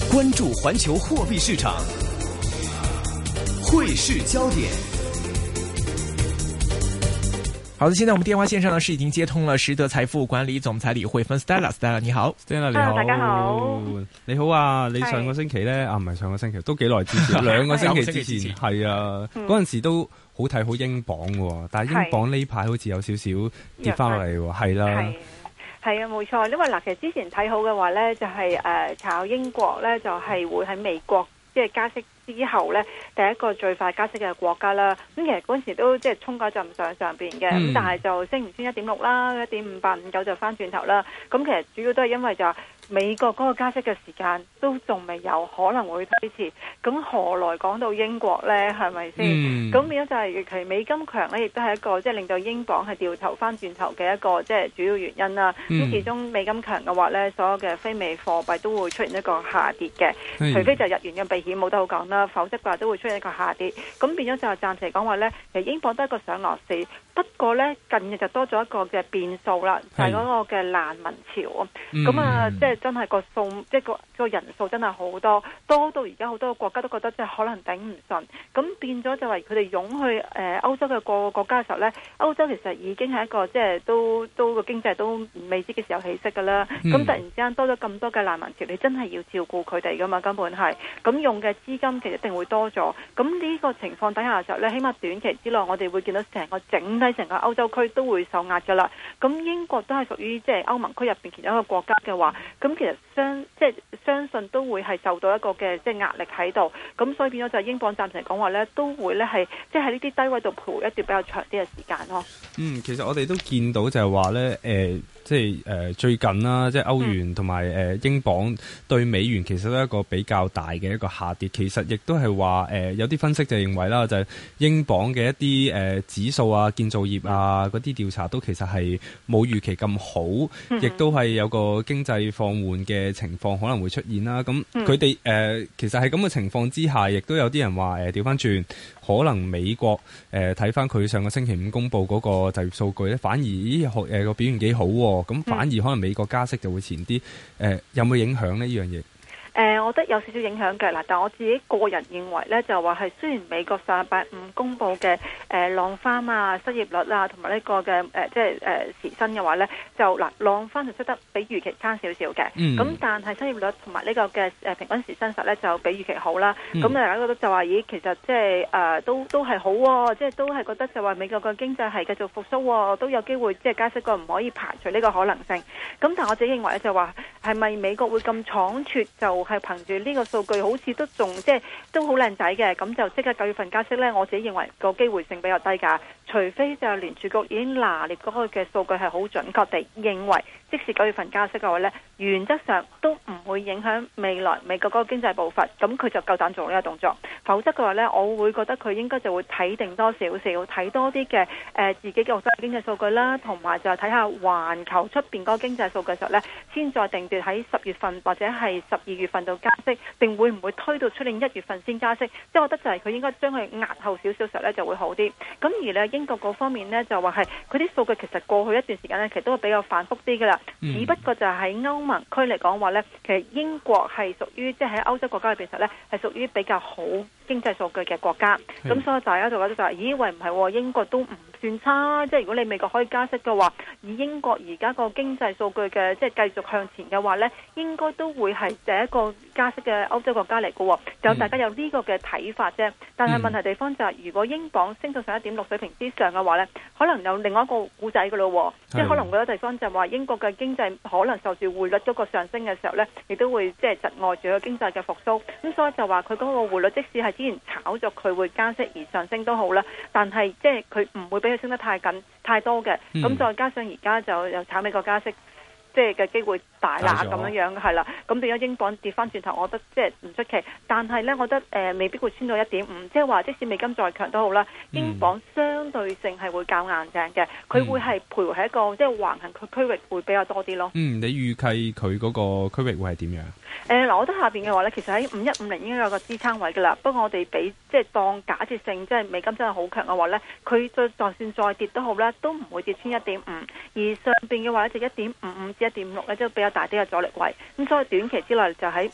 關注環球貨幣市場，匯市焦點。好的，現在我們電話線上呢是已經接通了實德財富管理總裁李慧芬 Stella 你好 Stella 你好， 大家好， 你好啊！你上個星期呢，唔係上個星期，都幾耐之前，2個星期之前係啊，嗰陣時都好睇好英鎊喎，但係英鎊呢排好似有少少跌翻落嚟喎，係啦。 係啊，冇錯，因為嗱，其實之前睇好嘅話呢，就係炒英國呢，就係會喺美國即係加息之後呢，第一個最快加息嘅國家啦。咁其實嗰陣時都即係衝嗰陣上邊嘅，咁但係就升唔穿1.6啦，1.5859就翻轉頭啦。咁其實主要都係因為就美國嗰個加息嘅時間都仲未有，可能會推遲。咁何來講到英國呢？係咪先？咁變咗就係其實美金強呢，亦都係一個即係令到英鎊係掉頭翻轉頭嘅一個即係主要原因啦。咁其中美金強嘅話呢，所有嘅非美貨幣都會出現一個下跌嘅，除非就日元嘅避險冇得好講啦，否則嘅話都會出現一個下跌。咁變咗就係暫時嚟講話呢，其實英鎊都係一個上落市。不過呢，近日就多咗一個嘅變數啦，就係嗰個嘅難民潮啊。咁啊，即係真係個數，即係個人數真係好多到而家好多個國家都覺得即係可能頂唔順。咁變咗就係佢哋湧去歐洲嘅各個國家嘅時候呢，歐洲其實已經係一個即係都個經濟都未知嘅時候起色㗎啦。咁突然之間多咗咁多嘅難民潮，你真係要照顧佢哋㗎嘛，根本係。咁用嘅資金其實一定會多咗。咁呢個情況底下嘅時候呢，起碼短期之內我哋會見到成個歐洲區都會受壓㗎啦。咁英國都係屬於即係歐盟區入邊其中一個國家嘅話，咁其實相信都會係受到一個嘅即係壓力喺度。咁所以變咗就係英鎊暫時嚟講話呢，都會呢係即係喺呢啲低位度徘徊一段比較長啲嘅時間咯。 其實我哋都見到就係話呢，即係最近啦，即係歐元同埋英鎊對美元其實都係一個比較大嘅一個下跌。其實亦都係話有啲分析就認為啦，就係英鎊嘅一啲指數啊、建造業啊嗰啲調查都其實係冇預期咁好，亦都係有個經濟放緩嘅情況可能會出現啦。咁佢哋其實係咁嘅情況之下，亦都有啲人話調翻轉，可能美國睇翻佢上個星期五公佈嗰個就業數據咧，反而個表現幾好喎。咁反而可能美國加息就會前啲，有冇影響呢？呢樣嘢？ 我覺得有少少影響嘅嗱，但我自己個人認為呢，就話係雖然美國上禮拜五公佈嘅浪翻啊、失業率啊同埋呢個嘅即係時薪嘅話呢，就嗱浪翻就出得比預期差少少嘅，咁但係失業率同埋呢個嘅平均時薪實呢，就比預期好啦。咁大家覺得就話咦，其實即係都係好喎，即係都係覺得就話美國嘅經濟係繼續復甦喎，都有機會即係加息過，唔可以排除呢個可能性。咁但係我自己認為呢，就話係咪美國會咁倉促就係憑住呢個數據好似都仲即係都好靚仔嘅，咁就即刻9月份加息呢，我自己認為個機會性比較低㗎。除非就係聯儲局已經拿捏嗰個嘅數據係好準確地認為，即使9月份加息嘅話呢，原則上都唔會影響未來美國嗰個經濟步伐，咁佢就夠膽做呢個動作。否則嘅話呢，我會覺得佢應該就會睇定多少少，睇多啲嘅自己嘅經濟數據啦，同埋就係睇下環球出邊嗰個經濟數據嘅時候呢，先再定奪喺10月份或者係12月份度加息，定會唔會推到出年1月份先加息？即係我覺得就係佢應該將佢壓後少少時候呢就會好啲。咁而呢英國嗰方面呢，就話係佢啲數據其實過去一段時間呢，其實都係比較反覆啲㗎啦。只不過就係喺歐盟區嚟講話呢，其實英國係屬於即係喺歐洲國家裏邊實呢，係屬於比較好經濟數據嘅國家。咁所以大家就覺得就係咦喂，唔係英國都唔算差，即係如果你美國可以加息嘅話，以英國而家個經濟數據嘅即係繼續向前嘅話呢，應該都會係第一個加息嘅歐洲國家嚟嘅喎。就大家有呢個嘅睇法啫。但係問題地方就係，如果英鎊升到上1.6水平之上嘅話呢，可能有另外一個故仔嘅咯。即係可能嗰個地方就係話英國嘅經濟可能受住匯率嗰個上升嘅時候呢，亦都會即係窒礙住個經濟嘅復甦。咁所以就話佢嗰個匯率即使係之前炒作佢會加息而上升都好啦，但係即係佢唔會俾佢升得太緊太多嘅。咁再加上而家就又炒美國加息，即係嘅機會大啦，咁樣係啦。咁變咗英鎊跌翻轉頭，我覺得即係唔出奇。但係呢，我覺得未必會穿到1.5，即係話即使美金再強都好啦，英鎊相對性係會較硬淨嘅，佢會係徘徊喺一個即係橫行區域會比較多啲咯。 你預計佢嗰個區域會係點樣？ 嗱，我覺得下邊嘅話咧，其實喺5150應該有個支撐位噶啦。不過我哋俾即係當假設性，即係美金真係好強嘅話咧，佢就算再跌都好啦，都唔會跌穿1.5。而上邊嘅話咧就1.55至1.6咧，即係比較較大啲嘅阻力位，咁所以短期之內就喺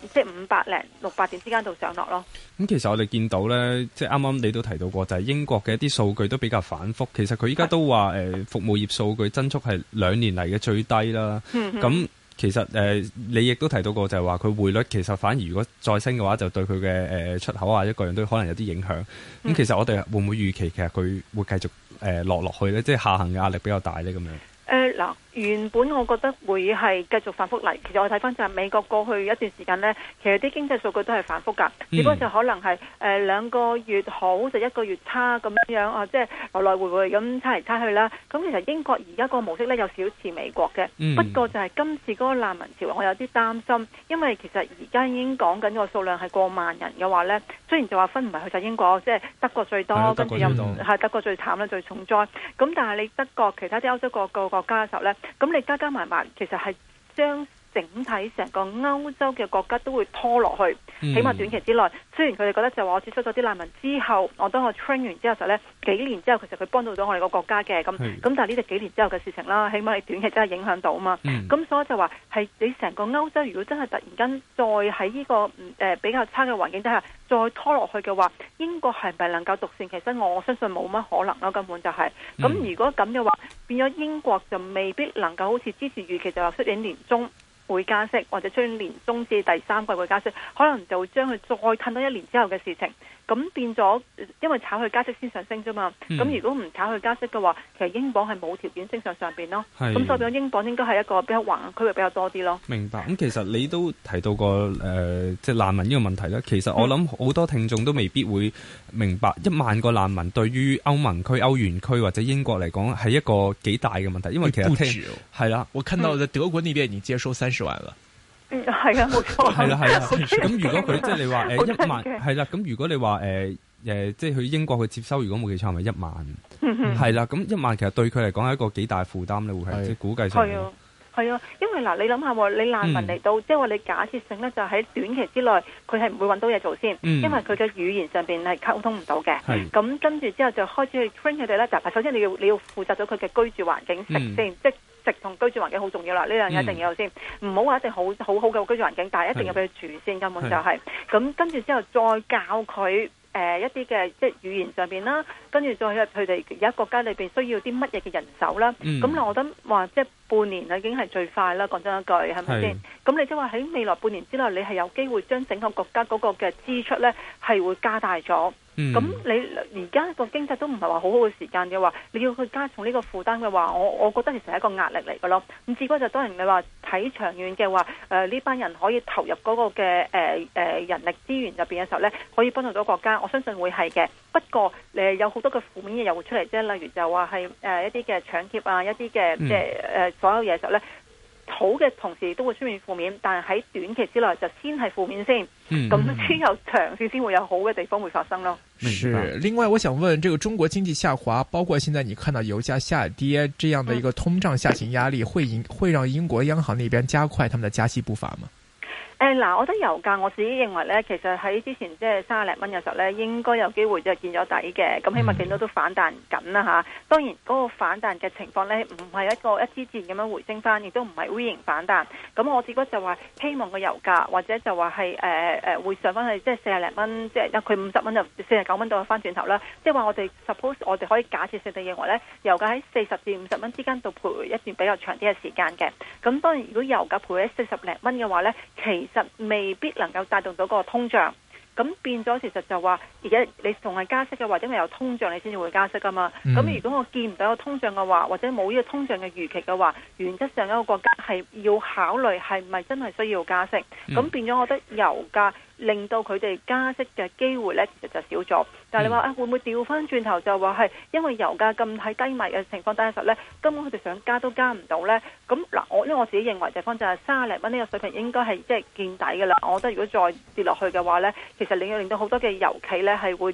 500零600點之間度上落咯。 咁其實我哋見到咧，即係啱啱你都提到過，就係英國嘅一啲數據都比較反覆。其實佢依家都話服務業數據增速係2年嚟嘅最低啦。咁其實你亦都提到過，就係話佢匯率其實反而如果再升嘅話，就對佢嘅出口啊一個樣都可能有啲影響。咁其實我哋會唔會預期其實佢會繼續落去咧？即係下行嘅壓力比較大咧咁樣。 嗱，原本我覺得會係繼續反覆嚟。其實我睇翻就係美國過去一段時間呢，其實啲經濟數據都係反覆㗎。只不過就可能係2個月好就1個月差咁樣啊，即係來來回回咁差嚟差去啦。咁其實英國而家個模式呢，有少似美國嘅，不過就係今次嗰個難民潮我有啲擔心，因為其實而家已經講緊個數量係過萬人嘅話呢，雖然就話分唔係去晒英國，即係德國最多，跟住又係德國最慘啦，最重災。咁但係你德國其他啲歐洲各個國家嘅時候呢，咁你加加埋埋，其實係將整體成個歐洲嘅國家都會拖落去，起碼短期之內。雖然佢哋覺得就話我接收咗啲難民之後，我當我 train 完之後呢，幾年之後其實佢幫到我哋個國家嘅，咁但係呢就幾年之後嘅事情啦，起碼你短期真係影響到啊嘛。咁所以就話係你成個歐洲如果真係突然間再喺呢個比較差嘅環境底下再拖落去嘅話，英國係咪能夠獨善其身？我相信冇乜可能咯，根本就係。咁如果咁嘅話，變咗英國就未必能夠好似之前預期就話出年年中會加息，或者出年中至第3季會加息，可能就會將佢再褪到1年之後嘅事情。咁變咗，因為炒佢加息先上升啫嘛。咁如果唔炒佢加息嘅話，其實英鎊係冇條件升上邊咯。咁所以變咗英鎊應該係一個比較橫區域比較多啲咯。 明白。咁其實你都提到過即係難民呢個問題咧。其實我諗好多聽眾都未必會明白1萬個難民對於歐盟區、歐元區或者英國嚟講係一個幾大嘅問題，因為其實係啦， 我看到在德國呢邊已經接收30萬了。 係啊，冇錯。 係啦。咁如果佢即係你話1萬係啦，咁如果你話即係去英國去接收，如果冇記錯係咪1萬？係啦，咁1萬其實對佢嚟講係一個幾大負擔咧，會係即係估計上。 係啊，因為嗱，你諗下喎，你難民嚟到，即係話你假設性咧，就喺短期之內，佢係唔會揾到嘢做先，因為佢嘅語言上邊係溝通唔到嘅。咁跟住之後就開始去 train 佢哋咧。嗱，首先你要負責到佢嘅居住環境食先，即係食同居住環境好重要啦。呢樣嘢一定要有先，唔好話一定好嘅居住環境，但係一定要俾佢住先，根本就係。咁跟住之後再教佢。一啲嘅即係語言上邊啦，跟住再佢哋而家國家裏邊需要啲乜嘢嘅人手啦。咁我覺得話即係半年已經係最快啦。講真一句，係咪先？咁你即係話喺未來半年之內，你係有機會將整個國家嗰個嘅支出咧係會加大咗。咁你而家個經濟都唔係話好好嘅時間嘅話，你要去加重呢個負擔嘅話，我覺得其實係一個壓力嚟嘅咯。咁只不過就當然你話睇長遠嘅話，呢班人可以投入嗰個嘅人力資源入邊嘅時候咧，可以幫助到國家，我相信會係嘅。不過有好多嘅負面嘢又會出嚟啫，例如就話係一啲嘅搶劫啊，一啲嘅即係所有嘢嘅時候咧。好嘅同時都會出現負面，但係喺短期之內就先係負面先，咁之後長線先會有好嘅地方會發生咯。 是，另外我想問，這個中國經濟下滑，包括現在你看到油價下跌，這樣的一個通脹下行壓力，會讓英國央行那邊加快他們的加息步伐嗎？ 嗱，我覺得油價我自己認為咧，其實喺之前即係30零蚊嘅時候咧，應該有機會就見咗底嘅，咁起碼見到都反彈緊啦嚇。當然嗰個反彈嘅情況咧，唔係一個一支箭咁樣回升翻，亦都唔係 V 型反彈。咁我只不過就話希望個油價或者就話係會上翻去即係40零蚊，即係佢50蚊就49蚊到翻轉頭啦。即係話我哋 suppose 我哋可以假設性地認為咧，油價喺40至50蚊之間度徘徊一段比較長啲嘅時間嘅。咁當然如果油價徘徊喺40零蚊嘅話咧，其實未必能夠帶動到個通脹，咁變咗其實就話而家你仲係加息嘅話，因為有通脹你先至會加息噶嘛。咁如果我見唔到有通脹嘅話，或者冇呢個通脹嘅預期嘅話，原則上一個國家係要考慮係咪真係需要加息。咁變咗我覺得油價令到佢哋加息嘅機會呢，其實就少咗。但係你話會唔會調翻轉頭就話係因為油價咁喺低迷嘅情況底下實呢，根本佢哋想加都加唔到呢？咁嗱，因為我自己認為地方就係30零蚊呢個水平應該係即係見底㗎啦。我覺得如果再跌落去嘅話呢，其實你要令到好多嘅油企呢係會即係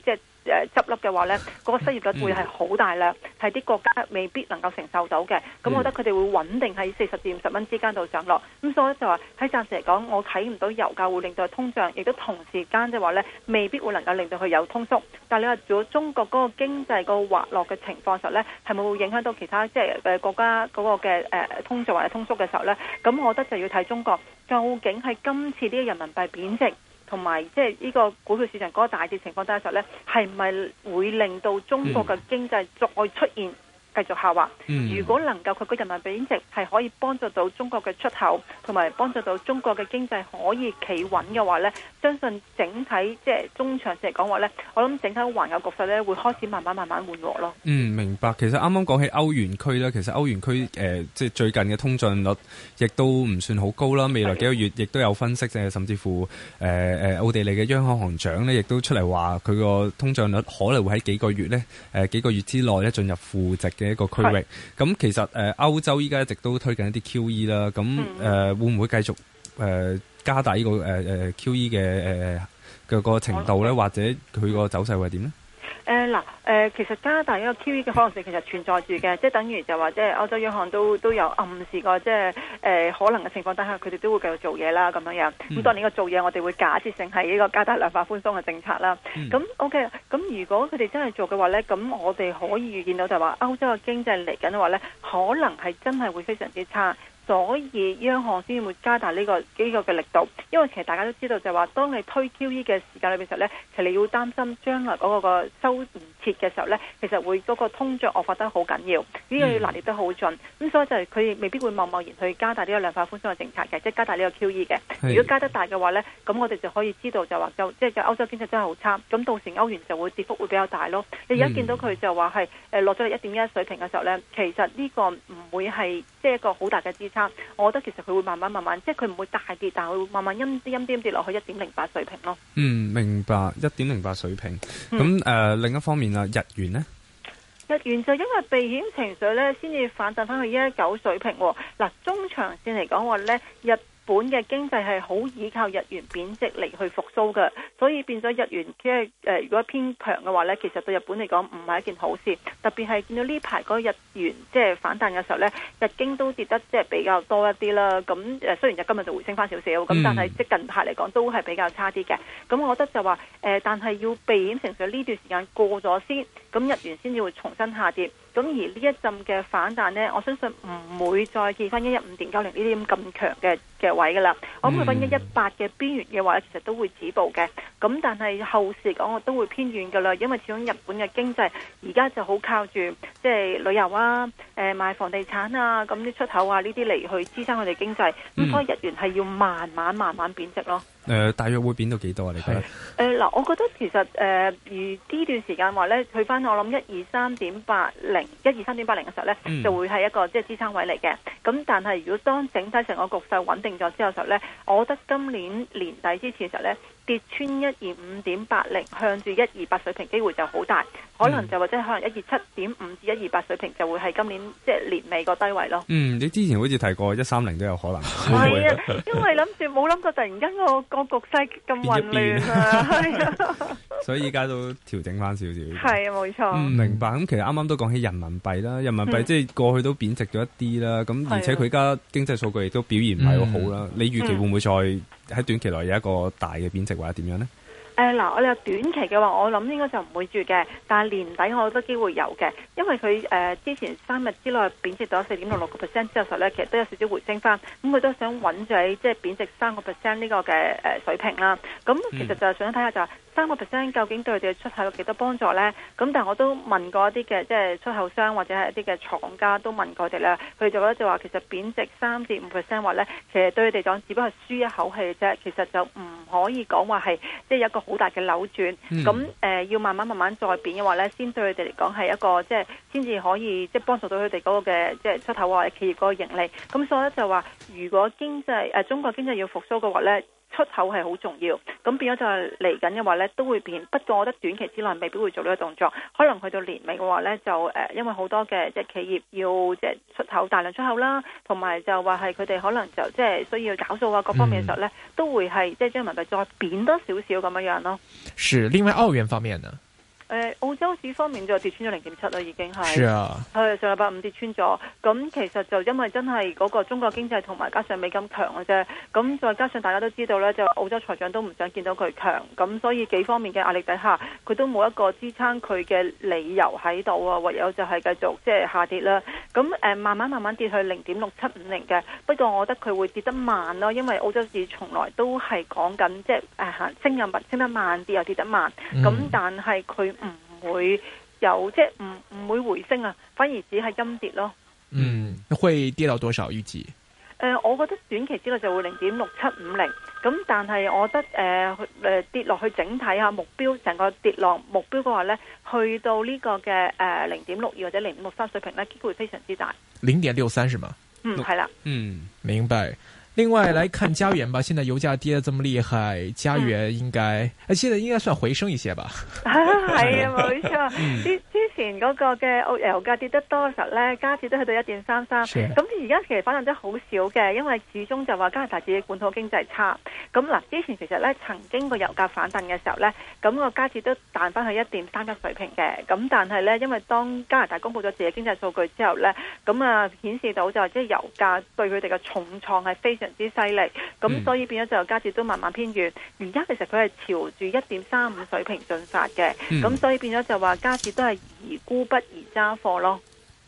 執笠嘅話呢，嗰個失業率會係好大量，係啲國家未必能夠承受到嘅。咁我覺得佢哋會穩定喺40至50蚊之間度上落。咁所以就話喺暫時嚟講，我睇唔到油價會令到通脹，亦都同時間即係話呢，未必會能夠令到佢有通縮。但係你話如果中國嗰個經濟個滑落嘅情況時候呢，係咪會影響到其他即係國家嗰個嘅通脹或者通縮嘅時候呢？咁我覺得就要睇中國究竟係今次呢個人民幣貶值同埋即係呢個股票市場嗰個大跌情況底下時候呢，係咪會令到中國嘅經濟再出現繼續下滑？如果能夠佢個人民幣貶值係可以幫助到中國嘅出口，同埋幫助到中國嘅經濟可以企穩嘅話呢，相信整體即係中長線嚟講話呢，我諗整體環球局勢呢會開始慢慢緩和咯。 明白。其實啱啱講起歐元區啦，其實歐元區即係最近嘅通脹率亦都唔算好高啦。未來幾個月亦都有分析，甚至乎奧地利嘅央行行長呢亦都出嚟話佢個通脹率可能會喺幾個月之內呢進入負值嘅一個區域。咁其實歐洲依家一直都推緊一啲 QE 啦，咁會唔會繼續加大呢個QE 嘅個程度咧，或者佢個走勢會係點咧？ 其實加大一個 QE 嘅可能性其實存在住嘅，即係等於就話即係歐洲央行都有暗示過，即係可能嘅情況底下，佢哋都會繼續做嘢啦咁樣樣。咁當然個做嘢，我哋會假設性係呢個加大量化寬鬆嘅政策啦。咁 OK，咁如果佢哋真係做嘅話咧，咁我哋可以預見到就係話歐洲嘅經濟嚟緊嘅話咧，可能係真係會非常之差。所以央行先會加大呢個嘅力度，因為其實大家都知道就係話，當你推 QE 嘅時間裏邊時候咧，其實你要擔心將來嗰個收唔切嘅時候咧，其實會嗰個通脹惡化得好緊要，呢個要拿捏得好盡。咁所以就係佢未必會貿然去加大呢個量化寬鬆嘅政策嘅，即係加大呢個 QE 嘅。如果加得大嘅話咧，咁我哋就可以知道就話即係歐洲經濟真係好差，咁到時歐元就會跌幅會比較大咯。你而家見到佢就話係落咗嚟1.1水平嘅時候咧，其實呢個唔會係即係一個好大嘅支撐。我覺得其實佢會慢慢，即係佢唔會大跌，但係佢會慢慢陰啲跌落去1.08水平咯。 明白1.08水平。咁另一方面啊，日元呢？ 日元就因為避險情緒咧，先至反彈翻去119水平。嗱，中長線嚟講話咧，日本嘅經濟係好依靠日元貶值嚟去復甦嘅，所以變咗日元即係如果偏強嘅話咧，其實對日本嚟講唔係一件好事。特別係見到呢排嗰個日元即係反彈嘅時候咧，日經都跌得即係比較多一啲啦。咁雖然日今日就回升翻少少，咁但係即係近排嚟講都係比較差啲嘅。咁我覺得就話但係要避險情緒呢段時間過咗先，咁日元先至會重新下跌。咁而呢一陣嘅反彈呢，我相信唔會再見翻115.90呢啲咁強嘅位噶啦。我諗去翻118嘅邊緣嘅話，其實都會止步嘅。咁但係後市嚟講，我都會偏軟噶啦，因為始終日本嘅經濟而家就好靠住即係旅遊啊、賣房地產啊、咁啲出口啊呢啲嚟去支撐佢哋經濟。咁所以日元係要慢慢貶值咯。 大約會貶到幾多啊？你覺得？ 嗱，我覺得其實而呢段時間話咧，去翻我諗123.80嘅時候咧，就會係一個即係支撐位嚟嘅。咁但係如果當整體成個局勢穩定咗之後時候咧，我覺得今年年底之前嘅時候咧，跌穿125.80向住128水平機會就好大，可能就或者可能127.5至128水平就會係今年即係年尾個低位咯。 你之前好似提過130都有可能。 係啊，因為冇諗過突然間個局勢咁混亂啊，係啊， 所以依家都調整翻少少。 係啊，冇錯。 明白。咁其實啱啱都講起人民幣啦，人民幣即係過去都貶值咗一啲啦。咁而且佢而家經濟數據亦都表現唔係好好啦。你預期會唔會再喺短期內有一個大嘅貶值或者點樣呢？ 嗱，我哋話短期嘅話，我諗應該就唔會住嘅，但係年底我覺得機會有嘅，因為佢之前3日之內貶值到4.66% 之後咧，其實都有少少回升翻，咁佢都想穩住喺即係貶值3% 呢個嘅水平啦。咁其實就係想睇下就係3% 究竟對佢哋嘅出口有幾多幫助咧？咁但係我都問過一啲嘅即係出口商或者係一啲嘅廠家都問過佢哋啦，佢哋就覺得就話其實貶值3至5%話咧，其實對佢哋講只不過係舒一口氣啫，其實就唔可以講話係即係有一個好大嘅扭轉。咁要慢慢再貶嘅話咧，先對佢哋嚟講係一個即係先至可以即係幫助到佢哋嗰個嘅即係出口或者企業嗰個盈利。咁所以咧就話，如果中國經濟要復甦嘅話咧，出口係好重要，咁變咗就係嚟緊嘅話呢都會變。不過我覺得短期之內未必會做呢個動作，可能去到年尾嘅話呢，就因為好多嘅即係企業要即係出口大量出口啦，同埋就話係佢哋可能就即係需要找數啊各方面嘅時候呢，都會係即係將人民幣再貶多少少咁樣樣咯。 是，另外澳元方面呢？ 澳洲市方面就跌穿咗0.7啦，已經係。 是啊， 係上禮拜五跌穿咗。咁其實就因為真係嗰個中國經濟同埋加上美金強嘅啫。咁再加上大家都知道咧，就澳洲財長都唔想見到佢強。咁所以幾方面嘅壓力底下，佢都冇一個支撐佢嘅理由喺度啊。唯有就係繼續即係下跌啦。咁慢慢跌去0.6750嘅。不過我覺得佢會跌得慢咯，因為澳洲市從來都係講緊即係升得慢啲又跌得慢。咁但係佢唔會有即係唔會回升啊，反而只係陰跌咯。 會跌到多少預計？ 我覺得短期之內就會0.6750，咁但係我覺得跌落去整體下目標成個跌落目標嘅話咧，去到呢個嘅0.62或者0.63水平咧，機會非常之大。 0.63是嗎？ 係啦。 明白。另外來看加元吧，現在油價跌得這麼厲害，加元應該，現在應該算回升一些吧？ 係啊，冇錯。之前嗰個嘅油價跌得多嘅時候咧，加指都去到1.33，咁而家其實反映得好少嘅，因為始終就話加拿大自己本土經濟差。咁嗱，之前其實咧曾經個油價反彈嘅時候咧，咁個加指都彈翻去1.31水平嘅。咁但係咧，因為當加拿大公布咗自己經濟數據之後咧，咁顯示到就即係油價對佢哋嘅重創係非常之犀利，咁所以變咗就加指都慢慢偏軟。而家其實佢係朝住1.35水平進發嘅，咁所以變咗就話加指都係宜沽不宜揸貨咯。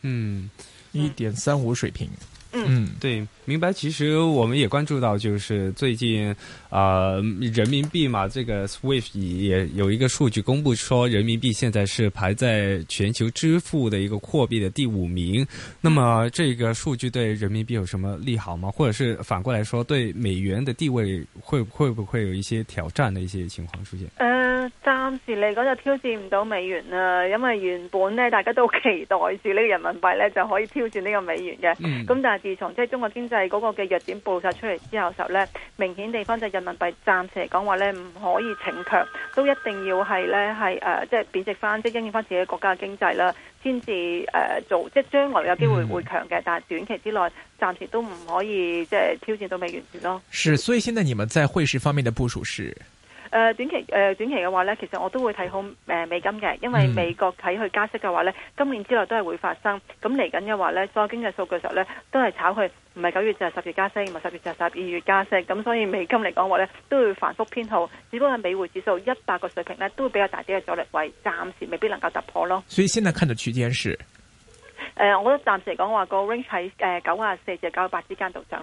1.35水平。 對，明白。其實我們也關注到，就是最近人民幣嘛，這個 SWIFT 也有一個數據公布，說人民幣現在是排在全球支付的一個貨幣的第5名。那麼這個數據對人民幣有什麼利好嗎？或者是反過來說，對美元的地位會不會有一些挑戰的一些情況出現？ 暫時嚟講就挑戰唔到美元啦，因為原本呢大家都期待住呢個人民幣呢就可以挑戰呢個美元嘅。咁但係自從即係中國經濟嗰個嘅弱點暴露晒出嚟之後嘅時候呢，明顯地方就人民幣暫時嚟講話呢唔可以逞強，都一定要係呢即係貶值翻，即係因應翻自己國家嘅經濟啦，先至做即係將來有機會會強嘅。但係短期之內暫時都唔可以即係挑戰到美元住咯。 是，所以現在你們在匯市方面的部署是？ 短期嘅話呢，其實我都會睇好美金嘅，因為美國睇佢加息嘅話呢，今年之內都係會發生。咁嚟緊嘅話呢，所有經濟數據嘅時候呢，都係炒佢唔係9月就係10月加息，唔係10月就係12月加息。咁所以美金嚟講話呢，都會反覆偏好，只不過係美匯指數100個水平呢，都會比較大啲嘅阻力位，暫時未必能夠突破咯。 所以現在看的區間是？ 我覺得暫時嚟講話個 range 喺94至98之間度上